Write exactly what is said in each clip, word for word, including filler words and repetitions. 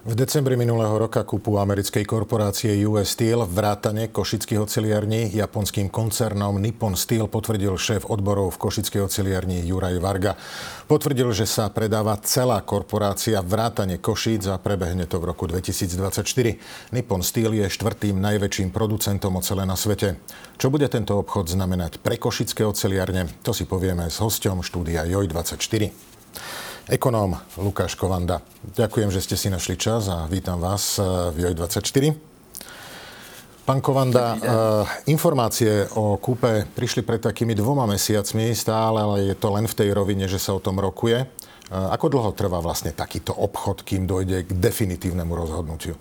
V decembri minulého roka kúpu americkej korporácie ú es Steel vrátane košických oceliarní japonským koncernom Nippon Steel potvrdil šéf odborov v košickej oceliarni Juraj Varga. Potvrdil, že sa predáva celá korporácia vrátane Košíc a prebehne to v roku dvetisícdvadsaťštyri. Nippon Steel je štvrtým najväčším producentom ocele na svete. Čo bude tento obchod znamenať pre košické oceliarne? To si povieme s hosťom štúdia Joj dvadsaťštyri. Ekonóm Lukáš Kovanda. Ďakujem, že ste si našli čas a vítam vás v Joj dvadsaťštyri. Pán Kovanda, informácie o kúpe prišli pred takými dvoma mesiacmi stále, ale je to len v tej rovine, že sa o tom rokuje. Ako dlho trvá vlastne takýto obchod, kým dojde k definitívnemu rozhodnutiu?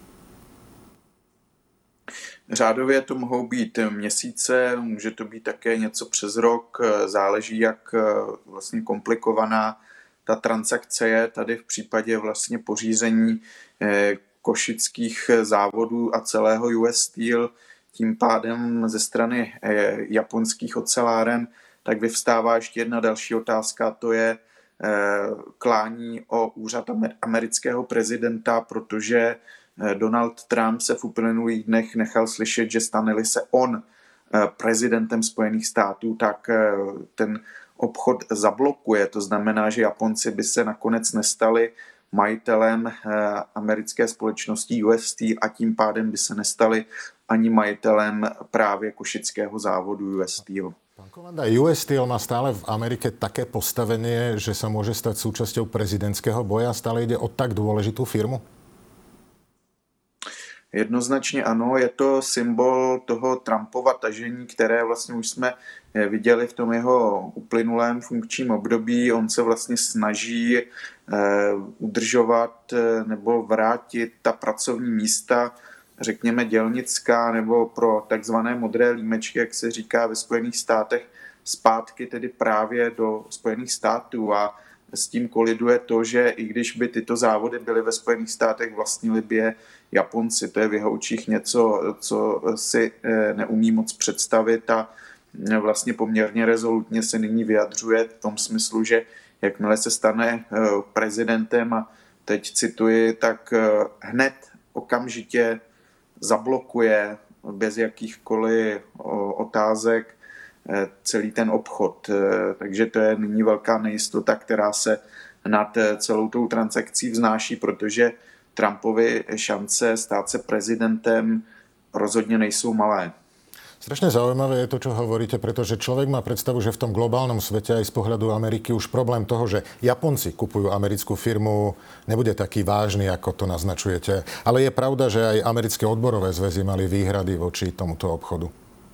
Řádově to mohou být měsíce, může to být také něco přes rok, záleží, jak vlastně komplikovaná ta transakce je. Tady v případě vlastně pořízení košických závodů a celého ú es Steel, tím pádem ze strany japonských oceláren, tak vyvstává ještě jedna další otázka, to je klání o úřad amerického prezidenta, protože Donald Trump se v uplynulých dnech nechal slyšet, že stane-li se on prezidentem Spojených států, tak ten obchod zablokuje. To znamená, že Japonci by se nakonec nestali majitelem americké společnosti ú es Steel a tím pádem by se nestali ani majitelem právě košického závodu ú es Steel. Pán Kovanda, ú es Steel má stále v Amerike také postavenie, že sa môže stať súčasťou prezidentského boja? Stále ide o tak dôležitú firmu? Jednoznačně ano, je to symbol toho Trumpova tažení, které vlastně už jsme viděli v tom jeho uplynulém funkčním období. On se vlastně snaží udržovat nebo vrátit ta pracovní místa, řekněme dělnická nebo pro takzvané modré límečky, jak se říká ve Spojených státech, zpátky tedy právě do Spojených států. A s tím koliduje to, že i když by tyto závody byly ve Spojených státech, vlastnili by je Japonci. To je v jeho očích něco, co si neumí moc představit a vlastně poměrně rezolutně se nyní vyjadřuje v tom smyslu, že jakmile se stane prezidentem, a teď cituji, tak hned okamžitě zablokuje bez jakýchkoliv otázek celý ten obchod. Takže to je nyní velká nejistota, která se nad celou tou transakcí vznáší, protože Trumpovi šance stát se prezidentem rozhodne nejsou malé. Strašne zaujímavé je to, čo hovoríte, pretože človek má predstavu, že v tom globálnom svete aj z pohľadu Ameriky už problém toho, že Japonci kupujú americkú firmu, nebude taký vážny, ako to naznačujete. Ale je pravda, že aj americké odborové zväzy mali výhrady voči tomuto obchodu.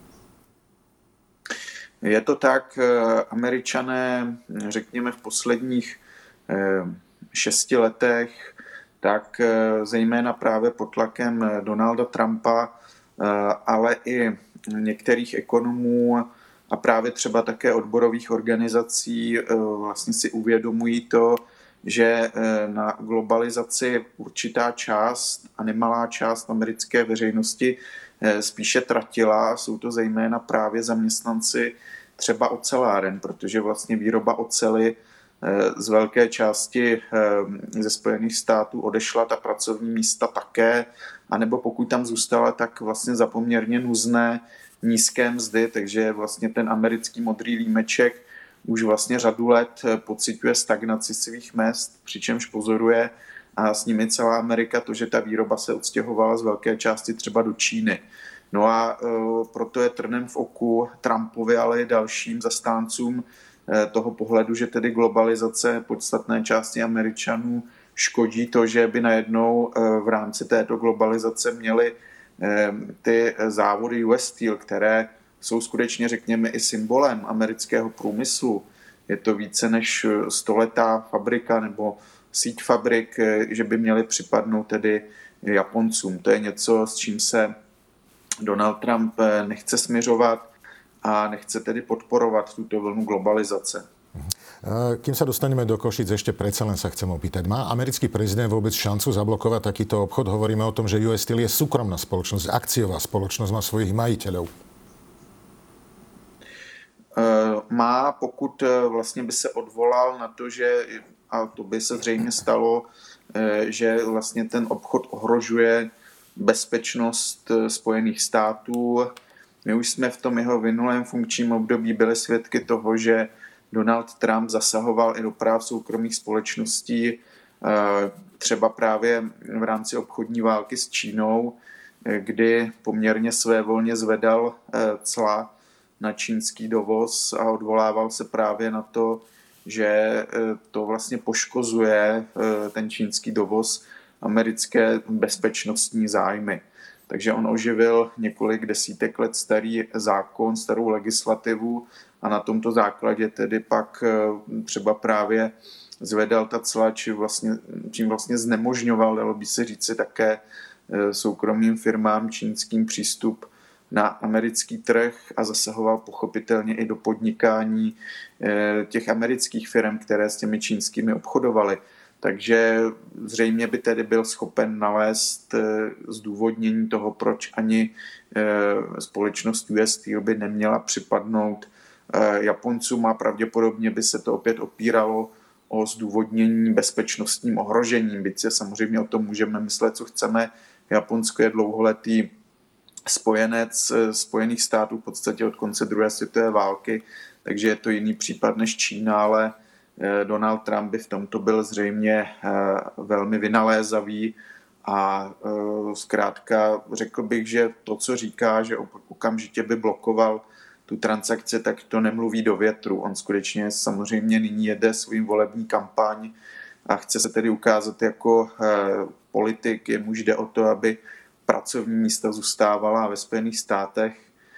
Je to tak, Američané, řekněme v posledních šesti letech, tak zejména právě pod tlakem Donalda Trumpa, ale i některých ekonomů a právě třeba také odborových organizací vlastně si uvědomují to, že na globalizaci určitá část a nemalá část americké veřejnosti spíše tratila. Jsou to zejména právě zaměstnanci třeba oceláren, protože vlastně výroba oceli z velké části ze Spojených států odešla, ta pracovní místa také, anebo pokud tam zůstala, tak vlastně za poměrně nuzné nízké mzdy, takže vlastně ten americký modrý límeček už vlastně řadu let pociťuje stagnaci svých mezd, přičemž pozoruje a s nimi celá Amerika to, že ta výroba se odstěhovala z velké části třeba do Číny. No a proto je trnem v oku Trumpovi, ale i dalším zastáncům toho pohledu, že tedy globalizace podstatné části Američanů škodí to, že by najednou v rámci této globalizace měly ty závody ú es Steel, které jsou skutečně, řekněme, i symbolem amerického průmyslu. Je to více než stoletá fabrika nebo síť fabrik, že by měly připadnout tedy Japoncům. To je něco, s čím se Donald Trump nechce směřovat a nechce tedy podporovat túto vlnu globalizace. Kým sa dostaneme do Košic, ešte predsa len sa chcem opýtať. Má americký prezident vôbec šancu zablokovať takýto obchod? Hovoríme o tom, že ú es Steel je súkromná spoločnosť, akciová spoločnosť, má svojich majiteľov. Má, pokud vlastně by se odvolal na to, že a to by se zřejmě stalo, že vlastně ten obchod ohrožuje bezpečnost Spojených států. My už jsme v tom jeho minulém funkčním období byli svědky toho, že Donald Trump zasahoval i do práv soukromých společností, třeba právě v rámci obchodní války s Čínou, kdy poměrně svévolně zvedal cla na čínský dovoz a odvolával se právě na to, že to vlastně poškozuje ten čínský dovoz americké bezpečnostní zájmy. Takže on oživil několik desítek let starý zákon, starou legislativu a na tomto základě tedy pak třeba právě zvedal ta cla, či vlastně, čím vlastně znemožňoval, dalo by se říci, také soukromým firmám čínským přístup na americký trh a zasahoval pochopitelně i do podnikání těch amerických firm, které s těmi čínskými obchodovaly. Takže zřejmě by tedy byl schopen nalézt zdůvodnění toho, proč ani společnost U S Steel by neměla připadnout Japoncům a pravděpodobně by se to opět opíralo o zdůvodnění bezpečnostním ohrožením. Byť se samozřejmě o tom můžeme myslet, co chceme. Japonsko je dlouholetý spojenec Spojených států v podstatě od konce druhé světové války, takže je to jiný případ než Čína, ale Donald Trump by v tomto byl zřejmě velmi vynalézavý a zkrátka řekl bych, že to, co říká, že okamžitě by blokoval tu transakci, tak to nemluví do větru. On skutečně samozřejmě nyní jede svým volební kampaň a chce se tedy ukázat jako politik, jemuž jde o to, aby pracovní místa zůstávala ve Spojených státech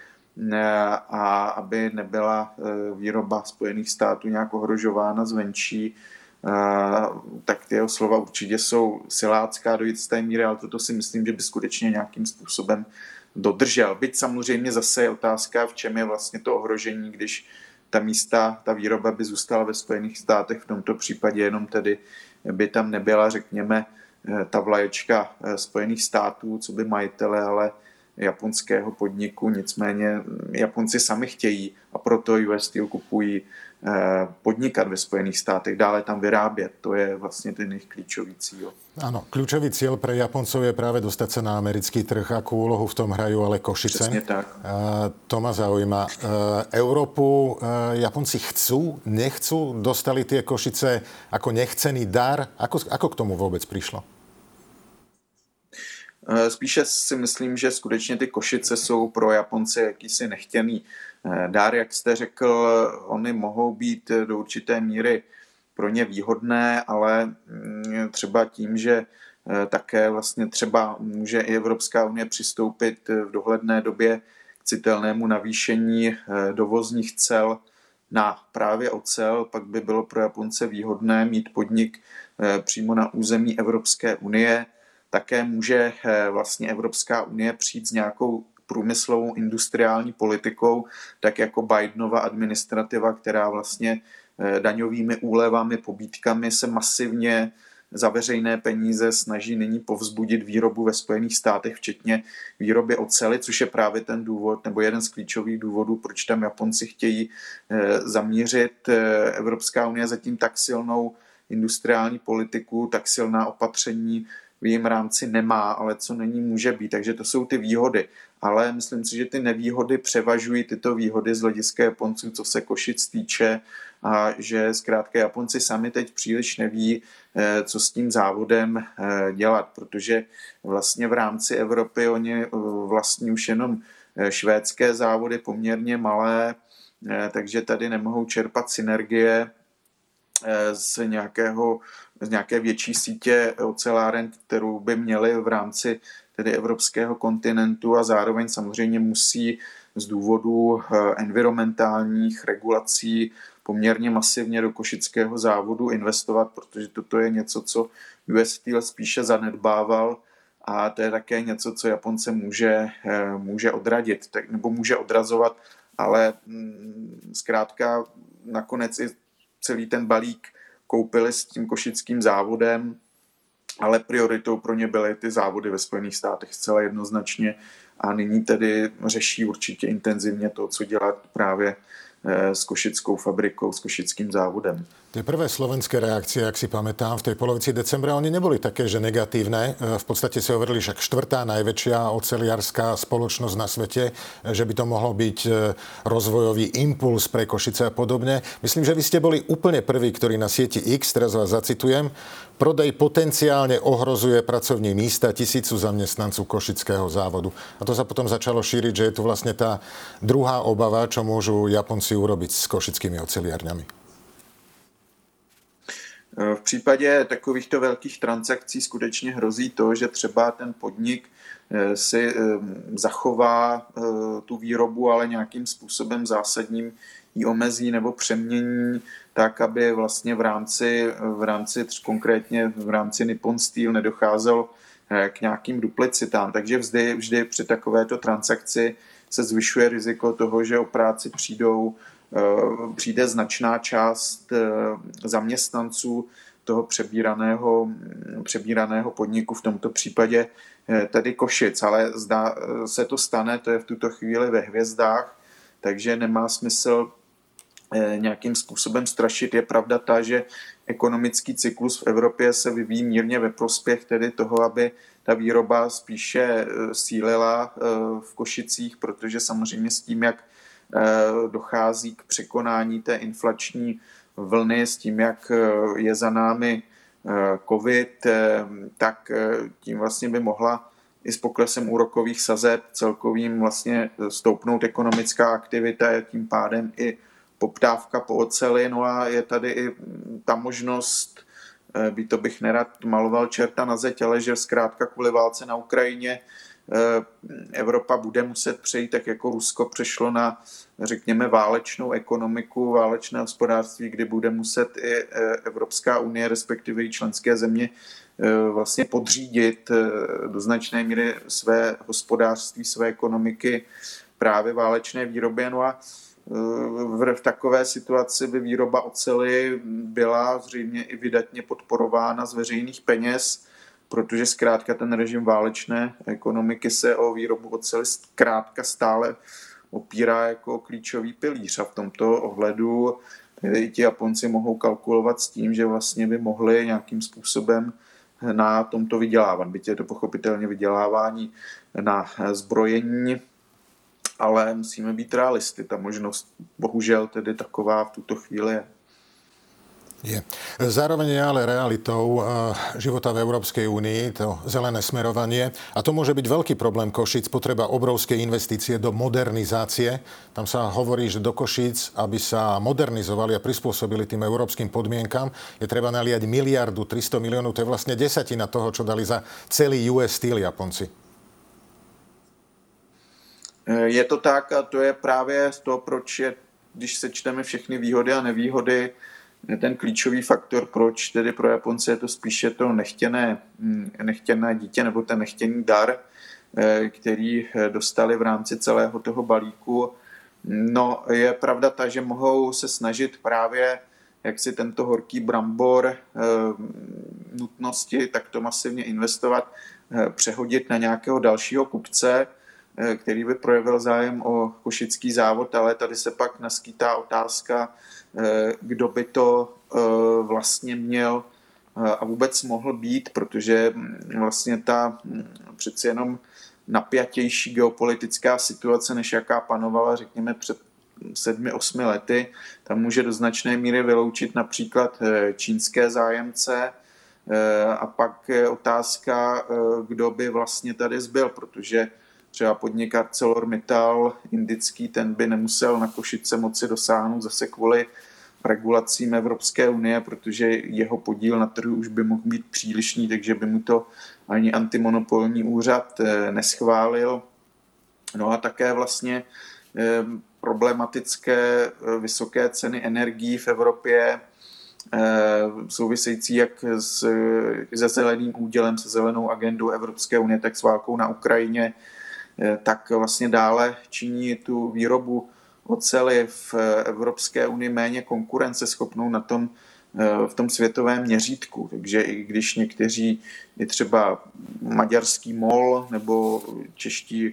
a aby nebyla výroba Spojených států nějak ohrožována zvenčí, tak ty jeho slova určitě jsou silácká do jisté míry, ale toto si myslím, že by skutečně nějakým způsobem dodržel. Byť samozřejmě zase je otázka, v čem je vlastně to ohrožení, když ta místa, ta výroba by zůstala ve Spojených státech, v tomto případě jenom tedy by tam nebyla, řekněme, ta vlaječka Spojených států, co by majitele, ale japonského podniku. Nicméně Japonci sami chtějí a proto U S Steel kupují podnikat ve Spojených státech, dále tam vyrábět. To je vlastně ten jejich klíčový cíl. Áno, kľúčový cieľ pre Japoncov je práve dostať sa na americký trh. Akú úlohu v tom hrajú ale Košice? Presne tak. To ma zaujíma. Európu Japonci chcú, nechcú? Dostali tie Košice ako nechcený dar? Ako, ako k tomu vôbec prišlo? Spíše si myslím, že skutečně ty Košice jsou pro Japonce jakýsi nechtěný dár, jak jste řekl, oni mohou být do určité míry pro ně výhodné, ale třeba tím, že také vlastně třeba může i Evropská unie přistoupit v dohledné době k citelnému navýšení dovozních cel na právě ocel, pak by bylo pro Japonce výhodné mít podnik přímo na území Evropské unie. Také může vlastně Evropská unie přijít s nějakou průmyslovou industriální politikou, tak jako Bidenova administrativa, která vlastně daňovými úlevami, pobídkami se masivně za veřejné peníze snaží nyní povzbudit výrobu ve Spojených státech, včetně výroby oceli, což je právě ten důvod, nebo jeden z klíčových důvodů, proč tam Japonci chtějí zamířit. Evropská unie zatím tak silnou industriální politiku, tak silná opatření v jejím rámci nemá, ale co není, může být. Takže to jsou ty výhody. Ale myslím si, že ty nevýhody převažují tyto výhody z hlediska Japonců, co se Košic týče, a že zkrátka Japonci sami teď příliš neví, co s tím závodem dělat, protože vlastně v rámci Evropy oni vlastní už jenom švédské závody poměrně malé, takže tady nemohou čerpat synergie z nějakého, z nějaké větší sítě oceláren, kterou by měli v rámci tedy evropského kontinentu, a zároveň samozřejmě musí z důvodu environmentálních regulací poměrně masivně do košického závodu investovat, protože toto je něco, co U S Steel spíše zanedbával, a to je také něco, co Japonce může, může odradit, tak, nebo může odrazovat, ale zkrátka nakonec i celý ten balík koupili s tím košickým závodem, ale prioritou pro ně byly ty závody ve Spojených státech zcela jednoznačně, a nyní tedy řeší určitě intenzivně to, co dělat právě s košickou fabrikou, s košickým závodem. Tie prvé slovenské reakcie, ak si pamätám, v tej polovici decembra, oni neboli také, že negatívne. V podstate si hovorili, že štvrtá najväčšia oceliarská spoločnosť na svete, že by to mohlo byť rozvojový impuls pre Košice a podobne. Myslím, že vy ste boli úplne prví, ktorí na sieti X, teraz vás zacitujem, prodej potenciálne ohrozuje pracovní místa tisícu zamestnancov košického závodu. A to sa potom začalo šíriť, že je tu vlastne tá druhá obava, čo môžu Japonci urobiť s košickými oceliárňami. V případě takovýchto velkých transakcí skutečně hrozí to, že třeba ten podnik si zachová tu výrobu, ale nějakým způsobem zásadním ji omezí nebo přemění tak, aby vlastně v rámci, v rámci konkrétně v rámci Nippon Steel nedocházelo k nějakým duplicitám. Takže vždy, vždy při takovéto transakci se zvyšuje riziko toho, že o práci přijdou přijde značná část zaměstnanců toho přebíraného, přebíraného podniku, v tomto případě tedy Košic, ale zdá se to stane, to je v tuto chvíli ve hvězdách, takže nemá smysl nějakým způsobem strašit. Je pravda ta, že ekonomický cyklus v Evropě se vyvíjí mírně ve prospěch tedy toho, aby ta výroba spíše sílila v Košicích, protože samozřejmě s tím, jak dochází k překonání té inflační vlny, s tím, jak je za námi covid, tak tím vlastně by mohla i s poklesem úrokových sazeb celkovým vlastně stoupnout ekonomická aktivita, tím pádem i poptávka po oceli. No a je tady i ta možnost, by to bych nerad maloval čerta na zeď, ale že zkrátka kvůli válce na Ukrajině Evropa bude muset přejít, tak jako Rusko přešlo na, řekněme, válečnou ekonomiku, válečné hospodářství, kdy bude muset i Evropská unie, respektive i členské země, vlastně podřídit do značné míry své hospodářství, své ekonomiky právě válečné výrobě. No a v takové situaci by výroba oceli byla zřejmě i vydatně podporována z veřejných peněz, protože zkrátka ten režim válečné ekonomiky se o výrobu oceli zkrátka stále opírá jako klíčový pilíř. A v tomto ohledu i ti Japonci mohou kalkulovat s tím, že vlastně by mohli nějakým způsobem na tomto vydělávat. Byť je to pochopitelně vydělávání na zbrojení, ale musíme být realisty. Ta možnost bohužel tedy taková v tuto chvíli je. Je. Zároveň je ale realitou života v Európskej únii to zelené smerovanie a to môže byť veľký problém Košíc, potreba obrovskej investície do modernizácie. Tam sa hovorí, že do Košíc, aby sa modernizovali a prispôsobili tým európskym podmienkam, je treba naliať miliardu tristo miliónov, to je vlastne desatina toho, čo dali za celý U S Steel Japonci. Je to tak a to je právě to, proč je, když sečteme všechny výhody a nevýhody, ten klíčový faktor, proč tedy pro Japonce je to spíše to nechtěné, nechtěné dítě nebo ten nechtěný dar, který dostali v rámci celého toho balíku. No, je pravda ta, že mohou se snažit právě, jak si tento horký brambor nutnosti takto masivně investovat, přehodit na nějakého dalšího kupce, který by projevil zájem o košický závod, ale tady se pak naskýtá otázka, kdo by to vlastně měl a vůbec mohl být, protože vlastně ta přeci jenom napjatější geopolitická situace, než jaká panovala, řekněme, před sedmi, osmi lety, tam může do značné míry vyloučit například čínské zájemce a pak je otázka, kdo by vlastně tady zbyl, protože třeba podnik ArcelorMittal indický, ten by nemusel na Košice moci dosáhnout zase kvůli regulacím Evropské unie, protože jeho podíl na trhu už by mohl být přílišný, takže by mu to ani antimonopolní úřad neschválil. No a také vlastně problematické vysoké ceny energií v Evropě, související jak se zeleným údělem, se zelenou agendou Evropské unie, tak s válkou na Ukrajině, tak vlastně dále činí tu výrobu oceli v Evropské unii méně konkurenceschopnou na tom, v tom světovém měřítku. Takže i když někteří, i třeba maďarský MOL nebo čeští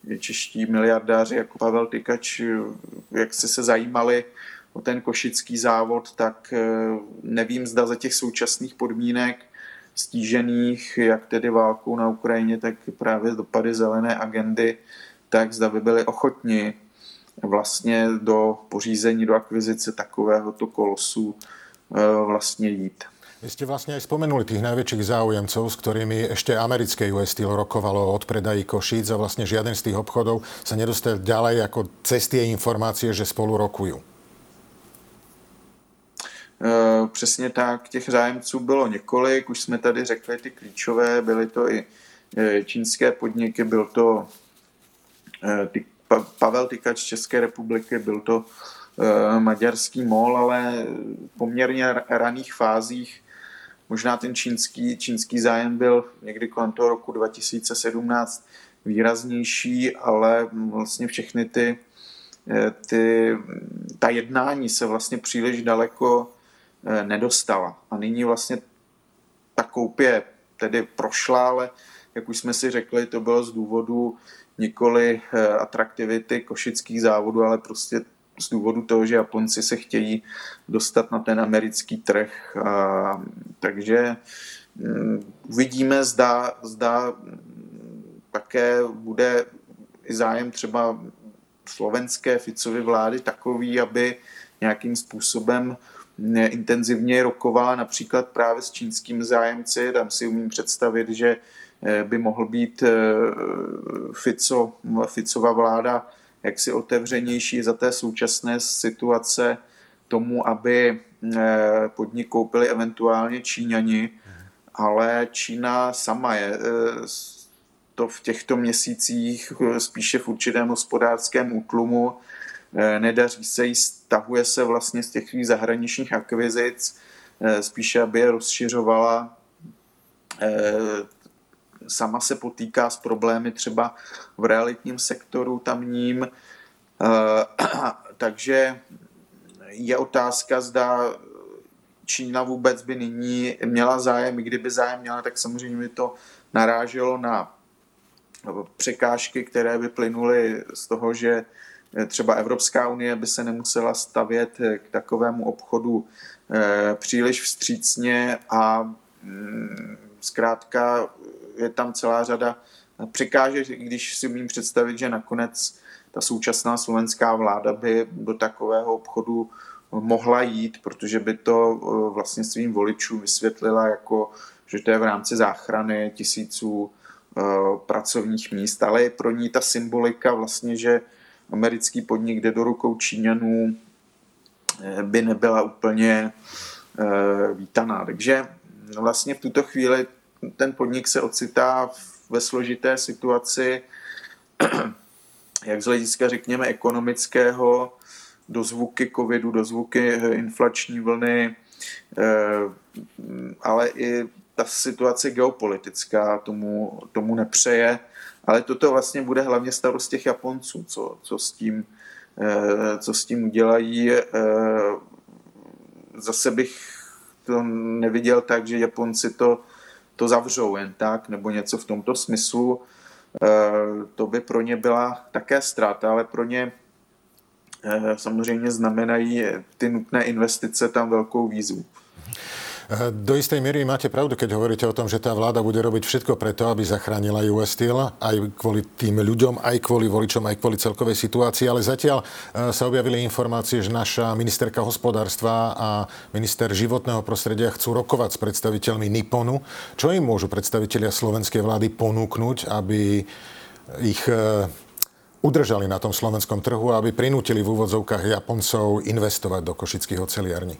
čeští miliardáři jako Pavel Tykač, jak se se zajímali o ten košický závod, tak nevím, zda za těch současných podmínek stížených, jak tedy válkou na Ukrajině, tak právě dopady zelené agendy, tak zda by byli ochotni vlastně do pořízení, do akvizice takovéhoto kolosu vlastně jít. Vy ste vlastne aj spomenuli tých najväčších záujemcov, s ktorými ešte americké ú es Steel rokovalo o odpredaji Košíc a vlastne žiaden z tých obchodov sa nedostal ďalej ako cez tie informácie, že spolu rokujú. E, přesně tak, těch zájemců bylo několik, už jsme tady řekli ty klíčové, byly to i čínské podniky, byl to e, ty, pa, Pavel Tykač z České republiky, byl to e, maďarský MOL, ale v poměrně raných fázích možná ten čínský, čínský zájem byl někdy kolem toho roku dva tisíce sedmnáct výraznější, ale vlastně všechny ty, ty ta jednání se vlastně příliš daleko nedostala. A nyní vlastně ta koupě tedy prošla, ale jak už jsme si řekli, to bylo z důvodu nikoli atraktivity košických závodů, ale prostě z důvodu toho, že Japonci se chtějí dostat na ten americký trh. A, takže um, uvidíme, zda, zda také bude i zájem třeba slovenské Ficovy vlády takový, aby nějakým způsobem intenzivně rokovala například právě s čínskými zájemci. Tam si umím představit, že by mohl být Fico, Ficova vláda jaksi otevřenější za té současné situace tomu, aby podnik koupili eventuálně Číňani, ale Čína sama je to v těchto měsících spíše v určitém hospodářském útlumu, nedaří se jí, stahuje se vlastně z těch zahraničních akvizic, spíše aby je rozšiřovala. Sama se potýká s problémy třeba v realitním sektoru tamním, takže je otázka, zda Čína vůbec by nyní měla zájem, i kdyby zájem měla, tak samozřejmě by to naráželo na překážky, které by plynuly z toho, že třeba Evropská unie by se nemusela stavět k takovému obchodu příliš vstřícně a zkrátka je tam celá řada překážek, když si umím představit, že nakonec ta současná slovenská vláda by do takového obchodu mohla jít, protože by to vlastně svým voličům vysvětlila, jako, že to je v rámci záchrany tisíců pracovních míst, ale je pro ní ta symbolika vlastně, že americký podnik jde do rukou Číňanů, by nebyla úplně vítaná. Takže vlastně v tuto chvíli ten podnik se ocitá ve složité situaci, jak z hlediska, řekněme, ekonomického, dozvuky covidu, dozvuky inflační vlny, ale i ta situace geopolitická tomu, tomu nepřeje. Ale toto vlastně bude hlavně starost těch Japonců, co, co, s tím, co s tím udělají. Zase bych to neviděl tak, že Japonci to, to zavřou jen tak, nebo něco v tomto smyslu. To by pro ně byla také ztráta, ale pro ně samozřejmě znamenají ty nutné investice tam velkou výzvu. Do istej miery máte pravdu, keď hovoríte o tom, že tá vláda bude robiť všetko preto, aby zachránila ú es Steel, aj kvôli tým ľuďom, aj kvôli voličom, aj kvôli celkovej situácii, ale zatiaľ sa objavili informácie, že naša ministerka hospodárstva a minister životného prostredia chcú rokovať s predstaviteľmi Nipponu. Čo im môžu predstavitelia slovenskej vlády ponúknuť, aby ich udržali na tom slovenskom trhu a aby prinútili v úvodzovkách Japoncov investovať do košických oceliarní?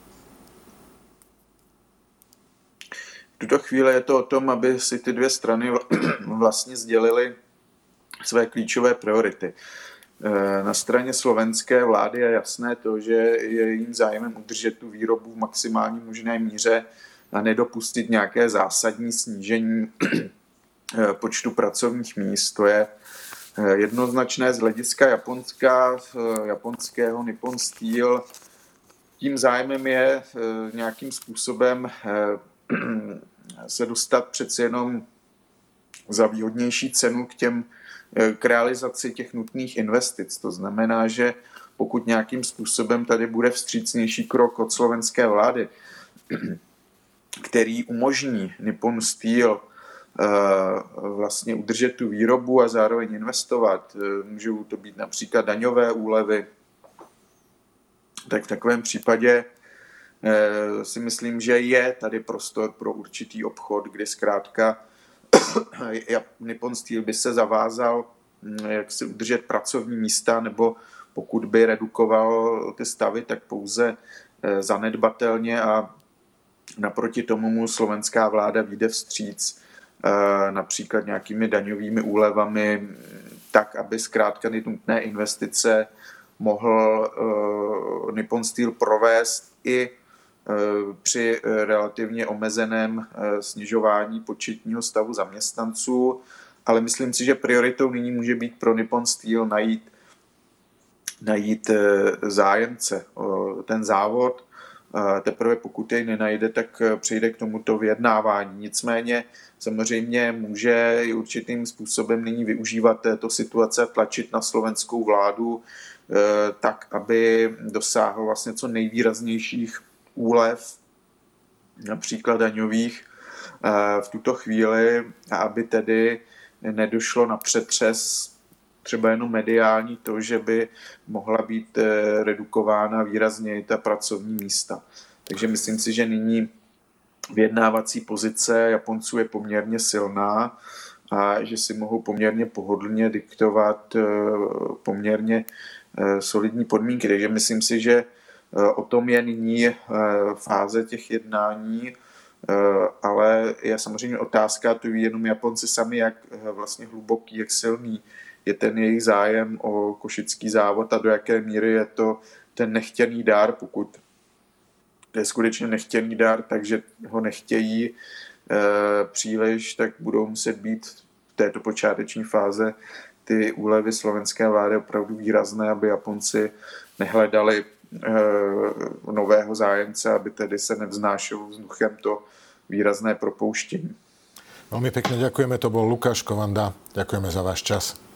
V tuto chvíli je to o tom, aby si ty dvě strany vlastně sdělily své klíčové priority. Na straně slovenské vlády je jasné to, že je jejím zájmem udržet tu výrobu v maximální možné míře a nedopustit nějaké zásadní snížení počtu pracovních míst. To je jednoznačné z hlediska Japonska, japonského Nippon Steel. Tím zájmem je nějakým způsobem se dostat přeci jenom za výhodnější cenu k těm k realizaci těch nutných investic. To znamená, že pokud nějakým způsobem tady bude vstřícnější krok od slovenské vlády, který umožní Nippon Steel vlastně udržet tu výrobu a zároveň investovat, můžou to být například daňové úlevy, tak v takovém případě si myslím, že je tady prostor pro určitý obchod, kdy zkrátka Nippon Steel by se zavázal jak si udržet pracovní místa, nebo pokud by redukoval ty stavy, tak pouze zanedbatelně a naproti tomu mu slovenská vláda vyjde vstříc například nějakými daňovými úlevami, tak, aby zkrátka ty nutné investice mohl Nippon Steel provést i při relativně omezeném snižování početního stavu zaměstnanců, ale myslím si, že prioritou nyní může být pro Nippon Steel najít, najít zájemce. Ten závod teprve pokud jej nenajde, tak přejde k tomuto vyjednávání. Nicméně samozřejmě může i určitým způsobem nyní využívat této situace, tlačit na slovenskou vládu tak, aby dosáhl vlastně co nejvýraznějších úlev, například daňových, v tuto chvíli, a aby tedy nedošlo na přetřes třeba jenom mediální to, že by mohla být redukována výrazně ta pracovní místa. Takže myslím si, že nyní vyjednávací pozice Japonců je poměrně silná a že si mohou poměrně pohodlně diktovat poměrně solidní podmínky. Takže myslím si, že o tom je nyní fáze těch jednání, ale je samozřejmě otázka, to ví jenom Japonci sami, jak vlastně hluboký, jak silný je ten jejich zájem o košický závod a do jaké míry je to ten nechtěný dár, pokud to je skutečně nechtěný dár, takže ho nechtějí e, příliš, tak budou muset být v této počáteční fáze ty úlevy slovenské vlády opravdu výrazné, aby Japonci nehledali e, nového zájemce, aby tedy se nevznášelo vzduchem to výrazné propouštění. Veľmi pekne ďakujeme, to bol Lukáš Kovanda. Ďakujeme za váš čas.